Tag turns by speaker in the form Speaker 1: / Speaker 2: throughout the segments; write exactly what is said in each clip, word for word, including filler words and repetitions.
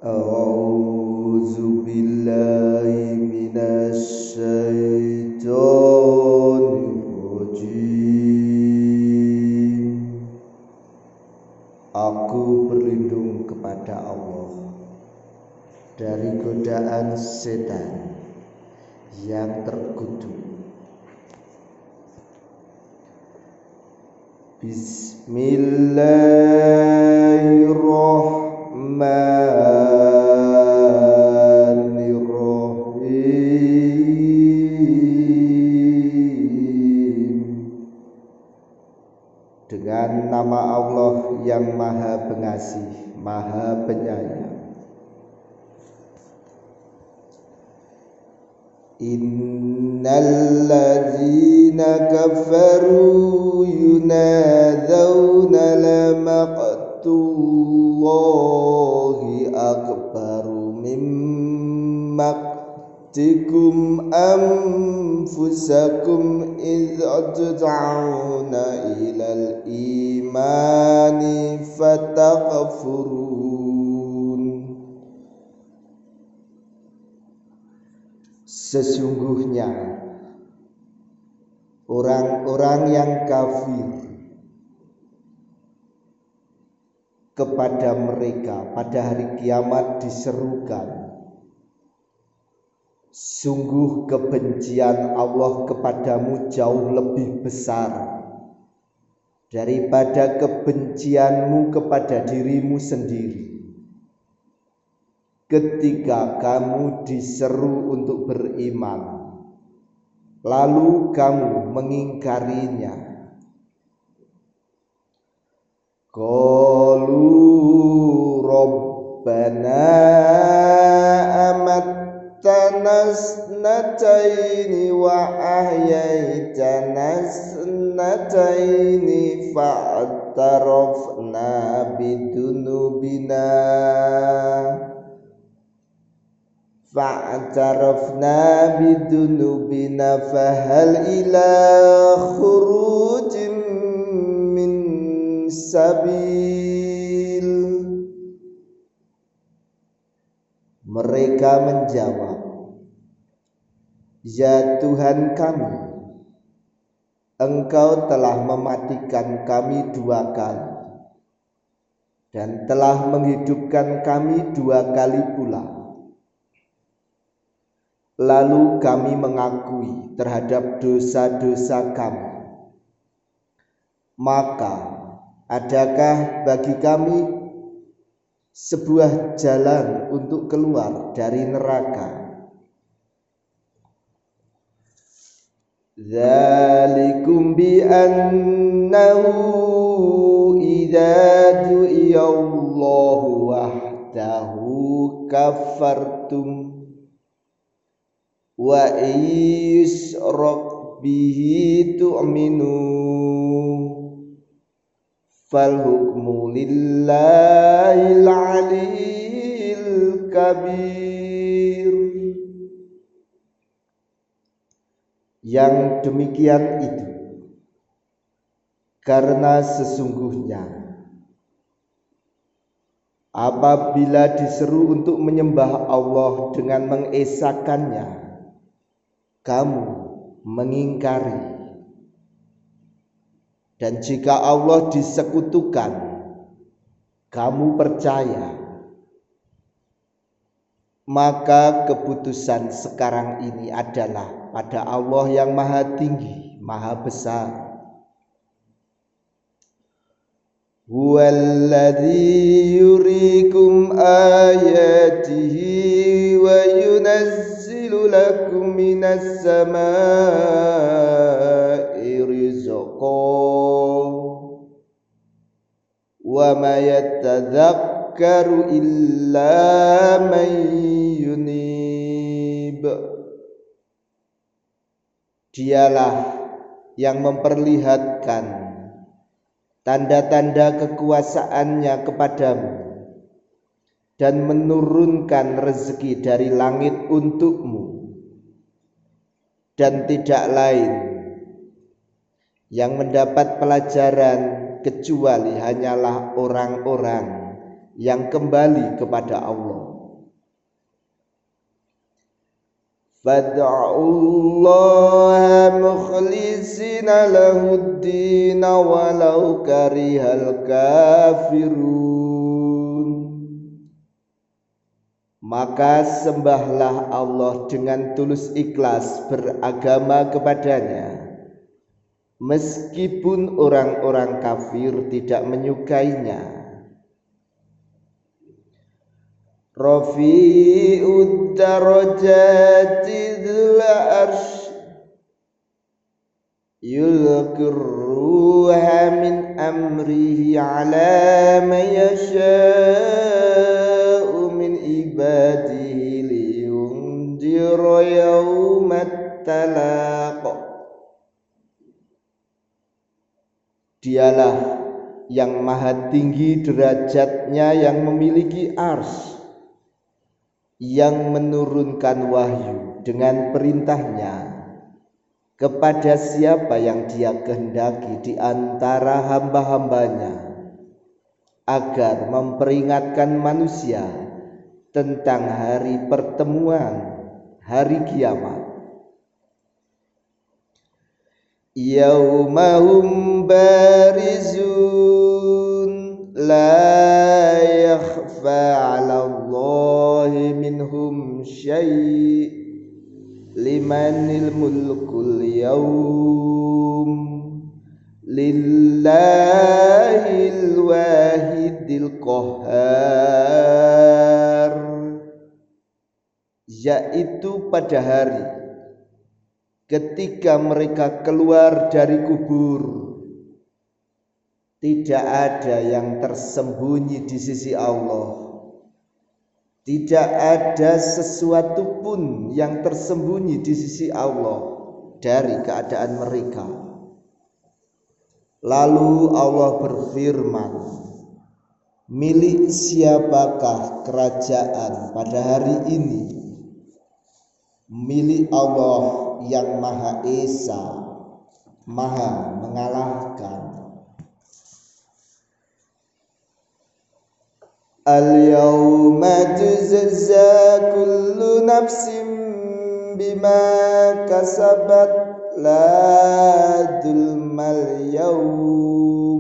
Speaker 1: A'udzu billahi minasy syaithanir rajim. Aku berlindung kepada Allah dari godaan setan yang terkutuk. Bismillahirrahmanirrahim. Dengan nama Allah yang Maha Pengasih, Maha Penyayang. Innal ladzina kafaru yunadzawna lamaqtullahi akbaru min maqtikum anfusakum idh tud'auna ilal imani fatakfurun. Sesungguhnya orang-orang yang kafir, kepada mereka pada hari kiamat diserukan, sungguh kebencian Allah kepadamu jauh lebih besar daripada kebencianmu kepada dirimu sendiri ketika kamu diseru untuk beriman, lalu kamu mengingkarinya. Qalu rabbana amattana snataini wa ahyaitana snataini fa'tarafna bidunubina fa'tarafna bidunubina fahal ila khurujim min sabil. Mereka menjawab, ya Tuhan kami, Engkau telah mematikan kami dua kali dan telah menghidupkan kami dua kali pula. Lalu kami mengakui terhadap dosa-dosa kami. Maka adakah bagi kami sebuah jalan untuk keluar dari neraka? Dzalikum bi annahu idza du'iyallahu wahdahu kafartum wa yusrak bihi tu'minu fal hukmu lillahil aliyil kabir. Yang demikian itu karena sesungguhnya apabila diseru untuk menyembah Allah dengan mengesakannya, kamu mengingkari, dan jika Allah disekutukan, kamu percaya, maka keputusan sekarang ini adalah pada Allah yang Maha Tinggi, Maha Besar. Huwallazi yuriikum ayatihi wa yunazzilu lakum minas samaa'i rizqan wa ma yatadzakkaru illa man yunib. Dialah yang memperlihatkan tanda-tanda kekuasaannya kepadamu dan menurunkan rezeki dari langit untukmu, dan tidak lain yang mendapat pelajaran kecuali hanyalah orang-orang yang kembali kepada Allah. Fad'ullaha mukhlishina lahuddin walau karihal kafirun. Maka sembahlah Allah dengan tulus ikhlas beragama kepadanya, meskipun orang-orang kafir tidak menyukainya. Rafi'ud darajati dzul arsy yulqir ruha min amrihi ala man yasha'u min ibadihi liyunzira yaumat talaq. Dialah yang maha tinggi derajatnya, yang memiliki arsy, yang menurunkan wahyu dengan perintahnya kepada siapa yang dia kehendaki di antara hamba-hambanya, agar memperingatkan manusia tentang hari pertemuan, hari kiamat. Yaumahum barizun la yakhfa 'ala Allahi minhum syai' limanil mulkul yawm lillahil wahidil qahhar. Yaitu pada hari ketika mereka keluar dari kubur, tidak ada yang tersembunyi di sisi Allah. Tidak ada sesuatu pun yang tersembunyi di sisi Allah dari keadaan mereka. Lalu Allah berfirman, milik siapakah kerajaan pada hari ini? Milik Allah yang Maha Esa, Maha mengalahkan. Al-yawma tujza kullu nafsin bima kasabat la dzulmal yawm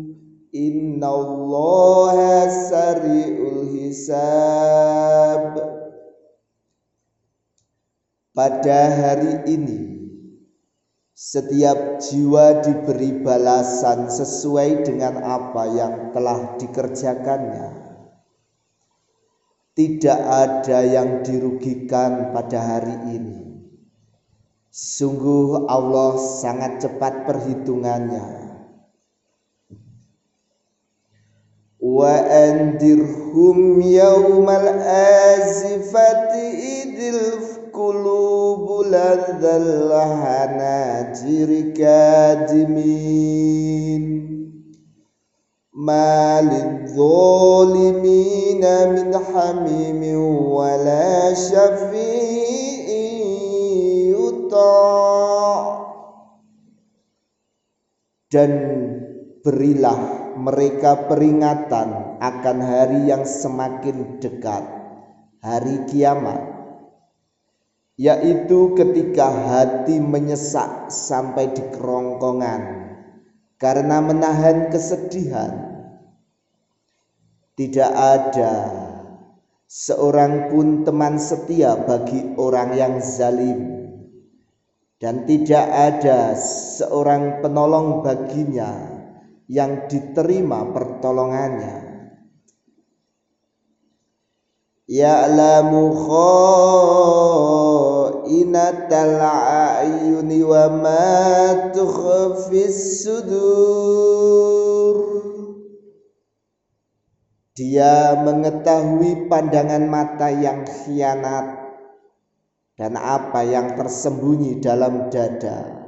Speaker 1: innallaha sari'ul hisab. Pada hari ini setiap jiwa diberi balasan sesuai dengan apa yang telah dikerjakannya. Tidak ada yang dirugikan pada hari ini. Sungguh Allah sangat cepat perhitungannya. Wa andirhum yaumal azifati idil qulubu ladzal hanajir kadimin malid zalimina min hamimin wala syafi'in yuta'. Dan berilah mereka peringatan akan hari yang semakin dekat, hari kiamat, yaitu ketika hati menyesak sampai di kerongkongan karena menahan kesedihan. Tidak ada seorang pun teman setia bagi orang yang zalim, dan tidak ada seorang penolong baginya yang diterima pertolongannya. Ya'lamu kha'inatal a'yuni wa ma tukhfis sudur. Dia mengetahui pandangan mata yang khianat dan apa yang tersembunyi dalam dada.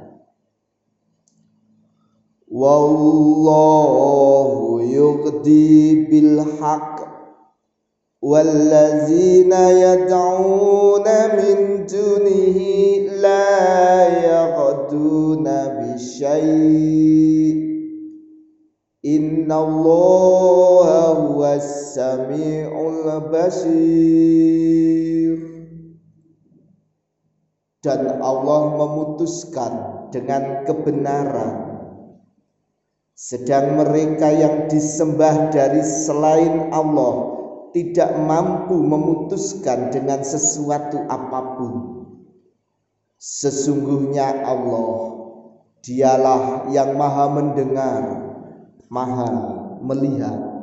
Speaker 1: Wallahu yuqdi bil haqq wallazina yad'una min dunihi la yaqduna bisyai' innallaha huwas sami'ul basir. dan Allah memutuskan dengan kebenaran, sedang mereka yang disembah dari selain Allah tidak mampu memutuskan dengan sesuatu apapun. Sesungguhnya Allah, Dialah yang maha mendengar, maha melihat.